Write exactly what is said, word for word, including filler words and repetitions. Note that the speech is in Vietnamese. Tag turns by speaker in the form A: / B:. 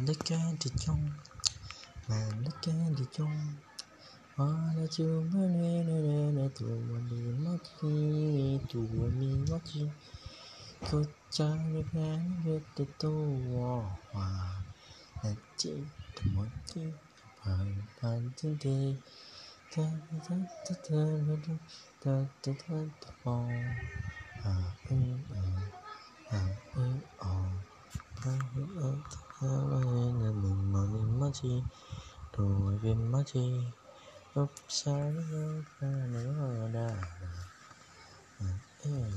A: đất ca đi trong mà đất ca đi trong hoa là chưa mới nè nè nè nè tu mi mất khi tu mi mất chi có cha được ngàn được từ tu hoa là chỉ từ một chi bàn bàn trên thế ta ta ta ta ta ta ta ta ta à ừ à à ừ à à ừ à ta là mình mà mình mất chi rồi viên mất chi lúc sáng ra nữa đã